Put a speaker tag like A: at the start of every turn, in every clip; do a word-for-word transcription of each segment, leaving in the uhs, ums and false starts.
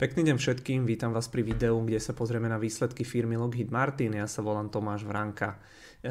A: Pekný deň všetkým, vítam vás pri videu, kde sa pozrieme na výsledky firmy Lockheed Martin. Ja sa volám Tomáš Vranka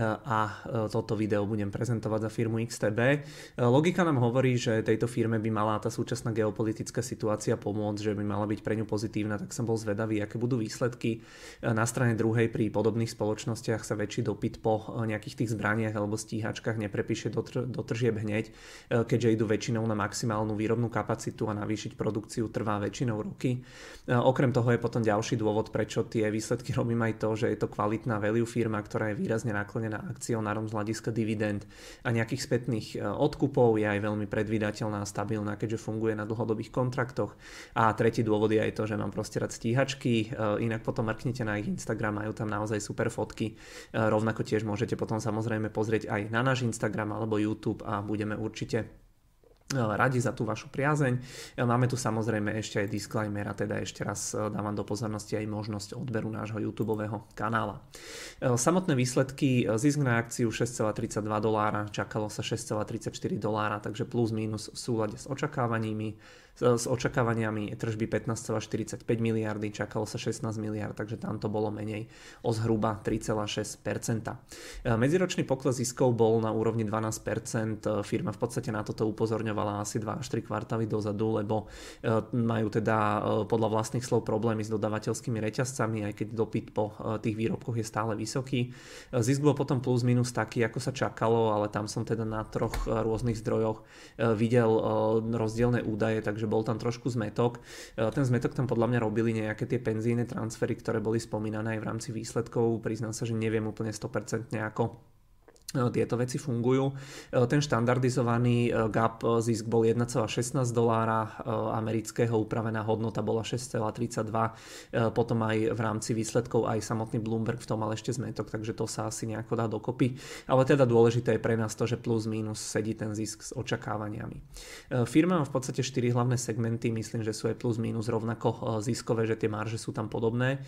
A: a toto video budem prezentovať za firmu iks té bé. Logika nám hovorí, že tejto firme by mala tá súčasná geopolitická situácia pomôcť, že by mala byť pre ňu pozitívna, tak som bol zvedavý, aké budú výsledky. Na strane druhej pri podobných spoločnostiach sa väčší dopyt po nejakých tých zbraniach alebo stíhačkách neprepíše do, tr- do tržieb hneď, keďže idú väčšinou na maximálnu výrobnú kapacitu a navýšiť produkciu trvá väčšinou roky. Okrem toho je potom ďalší dôvod, prečo tie výsledky robím aj to, že je to kvalitná value firma, ktorá je výrazne naklonená akcionárom z hľadiska dividend a nejakých spätných odkupov, je aj veľmi predvídateľná a stabilná, keďže funguje na dlhodobých kontraktoch. A tretí dôvod je aj to, že mám proste rád stíhačky, inak potom mrknite na ich Instagram, majú tam naozaj super fotky. Rovnako tiež môžete potom samozrejme pozrieť aj na náš Instagram alebo YouTube a budeme určite radi za tú vašu priazeň. Máme tu samozrejme ešte aj disclaimer a teda ešte raz dávam do pozornosti aj možnosť odberu nášho YouTubeového kanála. Samotné výsledky: zisk na akciu šesť celá tridsaťdva dolára, čakalo sa šesť celá tridsaťštyri dolára, takže plus mínus v súlade s očakávaniami. S očakávaniami tržby pätnásť celá štyridsaťpäť miliardy, čakalo sa šestnásť miliard, takže tam to bolo menej o zhruba tri celá šesť percenta. Medziročný pokles ziskov bol na úrovni dvanásť percent. Firma v podstate na toto upozorňovala asi dva až tri kvartály dozadu, lebo majú teda podľa vlastných slov problémy s dodávateľskými reťazcami, aj keď dopyt po tých výrobkoch je stále vysoký. Zisk bol potom plus minus taký, ako sa čakalo, ale tam som teda na troch rôznych zdrojoch videl rozdielne údaje, takže bol tam trošku zmetok. Ten zmetok tam podľa mňa robili nejaké tie penzíne transfery, ktoré boli spomínané aj v rámci výsledkov. Priznám sa, že neviem úplne sto percent ako tieto veci fungujú. Ten štandardizovaný gap zisk bol jeden celá šestnásť dolára amerického, upravená hodnota bola šesť celá tridsaťdva, potom aj v rámci výsledkov aj samotný Bloomberg v tom mal ešte zmetok, takže to sa asi nejako dá dokopy. Ale teda dôležité je pre nás to, že plus minus sedí ten zisk s očakávaniami. Firma má v podstate štyri hlavné segmenty, myslím, že sú aj plus minus rovnako ziskové, že tie marže sú tam podobné.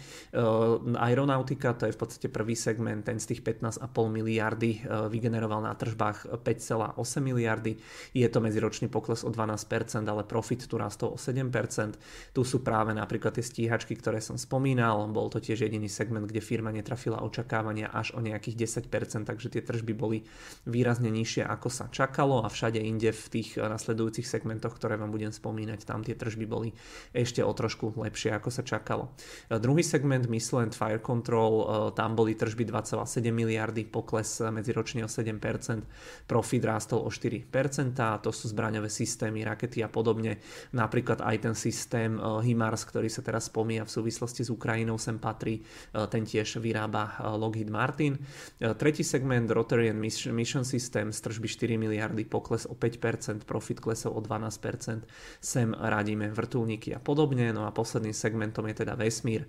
A: Aeronautika, to je v podstate prvý segment, ten z tých pätnásť celá päť miliardy vygeneroval na tržbách päť celá osem miliardy. Je to medziročný pokles o dvanásť percent, ale profit tu rastol o sedem percent. Tu sú práve napríklad tie stíhačky, ktoré som spomínal. Bol to tiež jediný segment, kde firma netrafila očakávania až o nejakých desať percent, takže tie tržby boli výrazne nižšie, ako sa čakalo, a všade inde v tých nasledujúcich segmentoch, ktoré vám budem spomínať, tam tie tržby boli ešte o trošku lepšie, ako sa čakalo. Druhý segment, Missile and Fire Control, tam boli tržby dva celá sedem miliardy, pokles medziročný ročne o sedem percent, profit rástol o štyri percentá, to sú zbraňové systémy, rakety a podobne. Napríklad aj ten systém HIMARS, ktorý sa teraz spomína v súvislosti s Ukrajinou, sem patrí, ten tiež vyrába Lockheed Martin. Tretí segment, Rotary and Mission System, z tržby štyri miliardy, pokles o päť percent, profit klesol o dvanásť percent, sem radíme vrtuľníky a podobne. No a posledným segmentom je teda vesmír,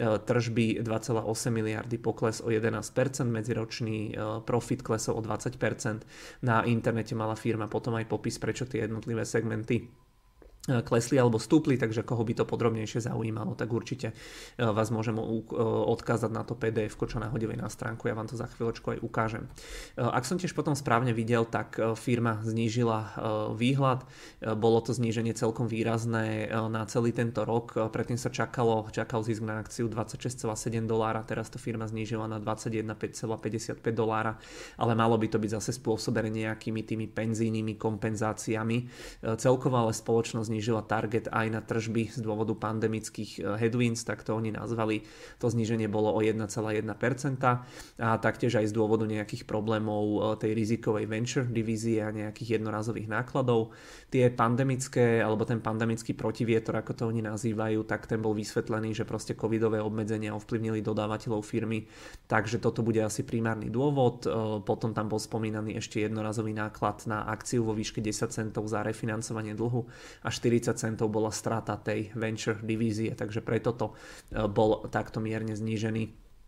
A: tržby dva celá osem miliardy, pokles o jedenásť percent, medziročný profit klesol o dvadsať percent. Na internete mala firma potom aj popis, prečo tie jednotlivé segmenty klesli alebo stúpli, takže koho by to podrobnejšie zaujímalo, tak určite vás môžem odkázať na to pé dé ef, čo nahodili na stránku, ja vám to za chvíľočku aj ukážem. Ak som tiež potom správne videl, tak firma znížila výhľad, bolo to zníženie celkom výrazné na celý tento rok, predtým sa čakalo, čakal zisk na akciu dvadsaťšesť celá sedem dolára, teraz to firma znížila na dvadsaťjeden celá päťdesiatpäť dolára, ale malo by to byť zase spôsobené nejakými tými penzijnými kompenzáciami. Celkovo ale spoločnosť znížila target aj na tržby z dôvodu pandemických headwinds, tak to oni nazvali. To zníženie bolo o jeden celá jeden percent a taktiež aj z dôvodu nejakých problémov tej rizikovej venture divízie a nejakých jednorazových nákladov. Tie pandemické, alebo ten pandemický protivietor, ako to oni nazývajú, tak ten bol vysvetlený, že proste covidové obmedzenia ovplyvnili dodávateľov firmy, takže toto bude asi primárny dôvod. Potom tam bol spomínaný ešte jednorazový náklad na akciu vo výške desať centov za refinancovanie dlhu a štyridsať centov bola strata tej venture divízie, takže preto to bol takto mierne znížený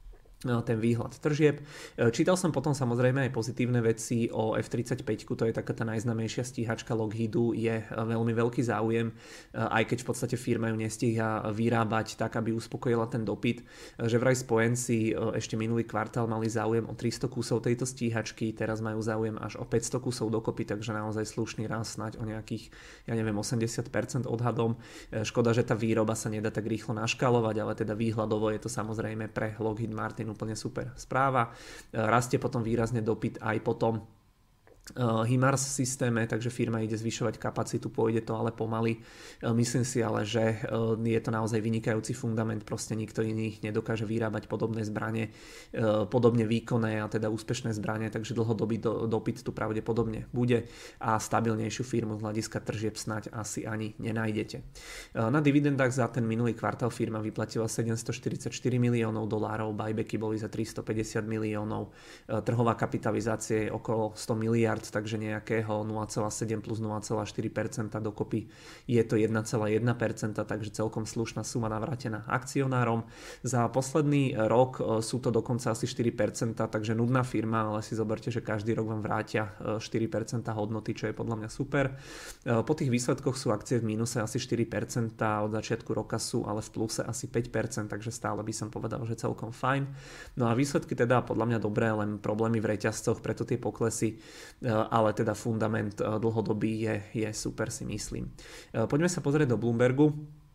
A: ten výhľad tržieb. Čítal som potom samozrejme aj pozitívne veci o ef tridsaťpäť, to je taká tá najznámejšia stíhačka Lockheedu, je veľmi veľký záujem, aj keď v podstate firma ju nestíha vyrábať tak, aby uspokojila ten dopyt. Že vraj spojenci ešte minulý kvartál mali záujem o tristo kusov tejto stíhačky, teraz majú záujem až o päťsto kusov dokopy, takže naozaj slušný rast, snáď o nejakých, ja neviem, osemdesiat percent odhadom. Škoda, že tá výroba sa nedá tak rýchlo naškalovať, ale teda výhľadovo je to samozrejme pre Lockheed Martin úplne super správa. Rastie potom výrazne dopyt aj potom HIMARS systéme, takže firma ide zvyšovať kapacitu, pôjde to ale pomaly. Myslím si ale, že je to naozaj vynikajúci fundament, proste nikto iný nedokáže vyrábať podobné zbrane, podobne výkonné a teda úspešné zbrane, takže dlhodobý dopyt tu pravdepodobne bude a stabilnejšiu firmu z hľadiska tržieb snáď asi ani nenájdete. Na dividendách za ten minulý kvartál firma vyplatila sedemstoštyridsaťštyri miliónov dolárov, buybacky boli za tristopäťdesiat miliónov, trhová kapitalizácia je okolo sto miliárd, takže nejakého nula celá sedem plus nula celá štyri percenta dokopy je to jeden celá jeden percent, takže celkom slušná suma navrátená akcionárom. Za posledný rok sú to dokonca asi štyri percentá, takže nudná firma, ale si zoberte, že každý rok vám vrátia štyri percentá hodnoty, čo je podľa mňa super. Po tých výsledkoch sú akcie v mínuse asi štyri percentá, od začiatku roka sú ale v pluse asi päť percent, takže stále by som povedal, že celkom fajn. No a výsledky teda podľa mňa dobré, len problémy v reťazcoch, preto tie poklesy, ale teda fundament dlhodobý je, je super, si myslím. Poďme sa pozrieť do Bloombergu.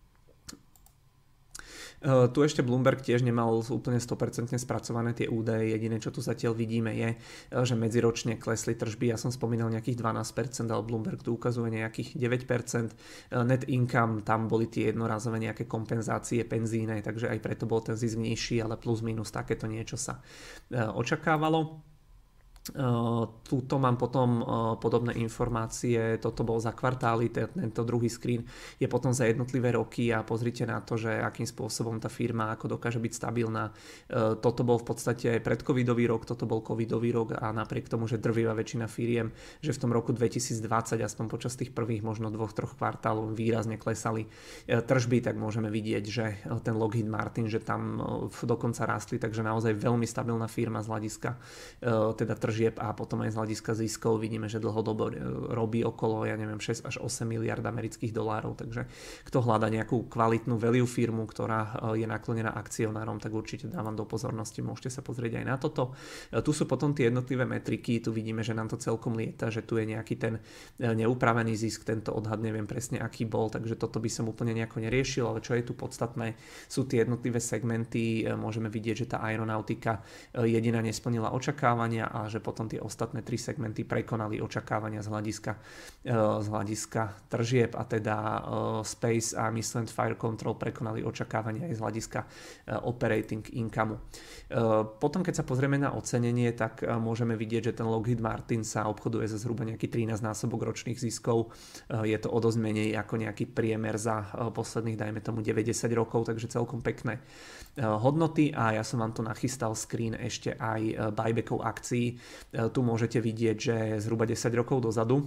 A: Uh, tu ešte Bloomberg tiež nemal úplne sto percent spracované tie údaje, jediné čo tu zatiaľ vidíme je, že medziročne klesli tržby, ja som spomínal nejakých dvanásť percent, ale Bloomberg tu ukazuje nejakých deväť percent, net income, tam boli tie jednorazové nejaké kompenzácie penzíne, takže aj preto bol ten zisk nižší, ale plus minus takéto niečo sa uh, očakávalo. Uh, túto mám potom uh, podobné informácie, toto bol za kvartály, tento druhý screen je potom za jednotlivé roky a pozrite na to, že akým spôsobom tá firma ako dokáže byť stabilná. Uh, toto bol v podstate predcovidový rok, toto bol covidový rok a napriek tomu, že drvivá väčšina firiem, že v tom roku dvetisícdvadsať, aspoň počas tých prvých možno dvoch, troch kvartálov výrazne klesali uh, tržby, tak môžeme vidieť, že uh, ten Lockheed Martin, že tam uh, dokonca rástli, takže naozaj veľmi stabilná firma z hľadiska uh, teda tržby a potom aj z hľadiska ziskov vidíme, že dlhodobo robí okolo, ja neviem, šesť až osem miliárd amerických dolárov, takže kto hľada nejakú kvalitnú value firmu, ktorá je naklonená akcionárom, tak určite dávam do pozornosti, môžete sa pozrieť aj na toto. Tu sú potom tie jednotlivé metriky, tu vidíme, že nám to celkom lieta, že tu je nejaký ten neupravený zisk, tento odhad neviem presne aký bol, takže toto by som úplne nejako neriešil, ale čo je tu podstatné, sú tie jednotlivé segmenty, môžeme vidieť, že tá aeronautika jediná nesplnila očakávania a že potom tie ostatné tri segmenty prekonali očakávania z hľadiska, z hľadiska tržieb a teda Space a Missile and Fire Control prekonali očakávania aj z hľadiska operating income. Potom keď sa pozrieme na ocenenie, tak môžeme vidieť, že ten Lockheed Martin sa obchoduje za zhruba nejaký trinásť násobok ročných ziskov. Je to o dosť menej ako nejaký priemer za posledných, dajme tomu deväťdesiat rokov, takže celkom pekné hodnoty a ja som vám tu nachystal screen ešte aj buybackov akcií. Tu môžete vidieť, že zhruba desať rokov dozadu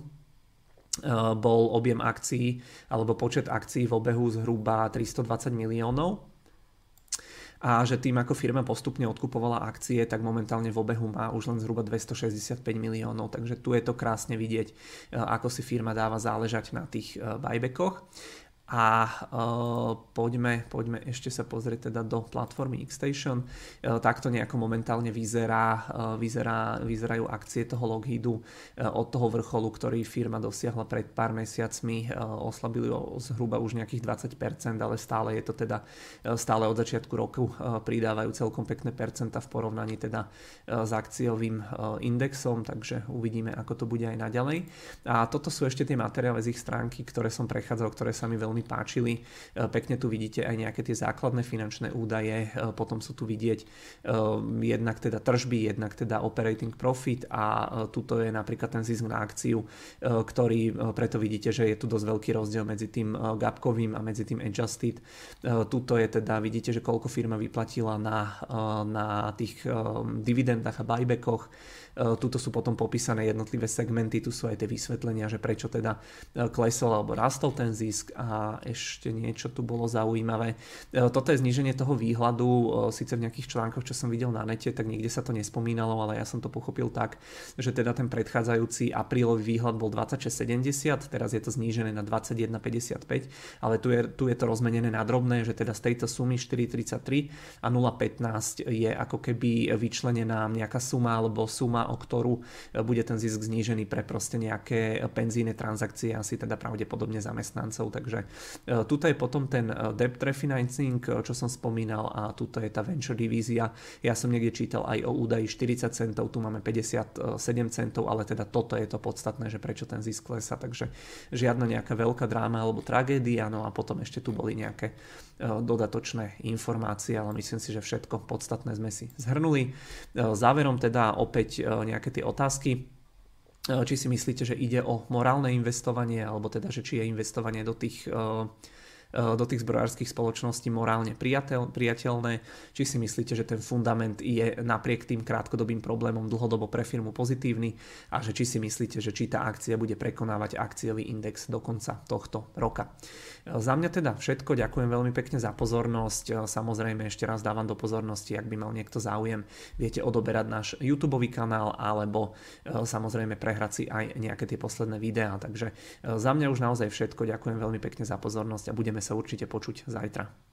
A: bol objem akcií alebo počet akcií v obehu zhruba tristodvadsať miliónov a že tým ako firma postupne odkupovala akcie, tak momentálne v obehu má už len zhruba dvestošesťdesiatpäť miliónov, takže tu je to krásne vidieť, ako si firma dáva záležať na tých buybackoch. A uh, poďme, poďme ešte sa pozrieť teda do platformy Xstation. Uh, takto nejako momentálne vyzerá, uh, vyzerá, vyzerajú akcie toho Lockheedu uh, od toho vrcholu, ktorý firma dosiahla pred pár mesiacmi. Uh, oslabili o zhruba už nejakých dvadsať percent, ale stále je to teda uh, stále od začiatku roku uh, pridávajú celkom pekné percenta v porovnaní teda uh, s akciovým uh, indexom, takže uvidíme, ako to bude aj naďalej. A toto sú ešte tie materiály z ich stránky, ktoré som prechádzal, ktoré sa mi veľmi páčili. Pekne tu vidíte aj nejaké tie základné finančné údaje, potom sú tu vidieť jednak teda tržby, jednak teda operating profit a tuto je napríklad ten zisk na akciu, ktorý preto vidíte, že je tu dosť veľký rozdiel medzi tým gapkovým a medzi tým adjusted. Tuto je teda, vidíte, že koľko firma vyplatila na, na tých dividendách a buybackoch. Tuto sú potom popísané jednotlivé segmenty, tu sú aj tie vysvetlenia, že prečo teda klesol alebo rastol ten zisk a a ešte niečo tu bolo zaujímavé. Toto je zníženie toho výhľadu, síce v nejakých článkoch, čo som videl na nete, tak nikde sa to nespomínalo, ale ja som to pochopil tak, že teda ten predchádzajúci aprílový výhľad bol dvadsaťšesť sedemdesiat, teraz je to znížené na dvadsaťjeden päťdesiatpäť, ale tu je, tu je to rozmenené na drobné, že teda z tejto sumy štyri tridsaťtri a nula pätnásť je ako keby vyčlenená nejaká suma alebo suma, o ktorú bude ten zisk znížený pre proste nejaké penzíne transakcie, asi teda pravdepodobne zamestnancov, takže tuto je potom ten debt refinancing, čo som spomínal, a tuto je tá venture divízia. Ja som niekde čítal aj o údaji štyridsať centov, tu máme päťdesiatsedem centov, ale teda toto je to podstatné, že prečo ten zisk klesá, takže žiadna nejaká veľká dráma alebo tragédia, no a potom ešte tu boli nejaké dodatočné informácie, ale myslím si, že všetko podstatné sme si zhrnuli. Záverom teda opäť nejaké tie otázky. Či si myslíte, že ide o morálne investovanie, alebo teda, že či je investovanie do tých do tých zbrojárskych spoločností morálne priateľ, priateľné, či si myslíte, že ten fundament je napriek tým krátkodobým problémom dlhodobo pre firmu pozitívny a že či si myslíte, že či tá akcia bude prekonávať akciový index do konca tohto roka. Za mňa teda všetko, ďakujem veľmi pekne za pozornosť, samozrejme ešte raz dávam do pozornosti, ak by mal niekto záujem, viete odoberať náš YouTube kanál alebo samozrejme prehrať si aj nejaké tie posledné videá, takže za mňa už naozaj všetko, ďakujem veľmi pekne za pozornosť a budeme sa určite počuť zajtra.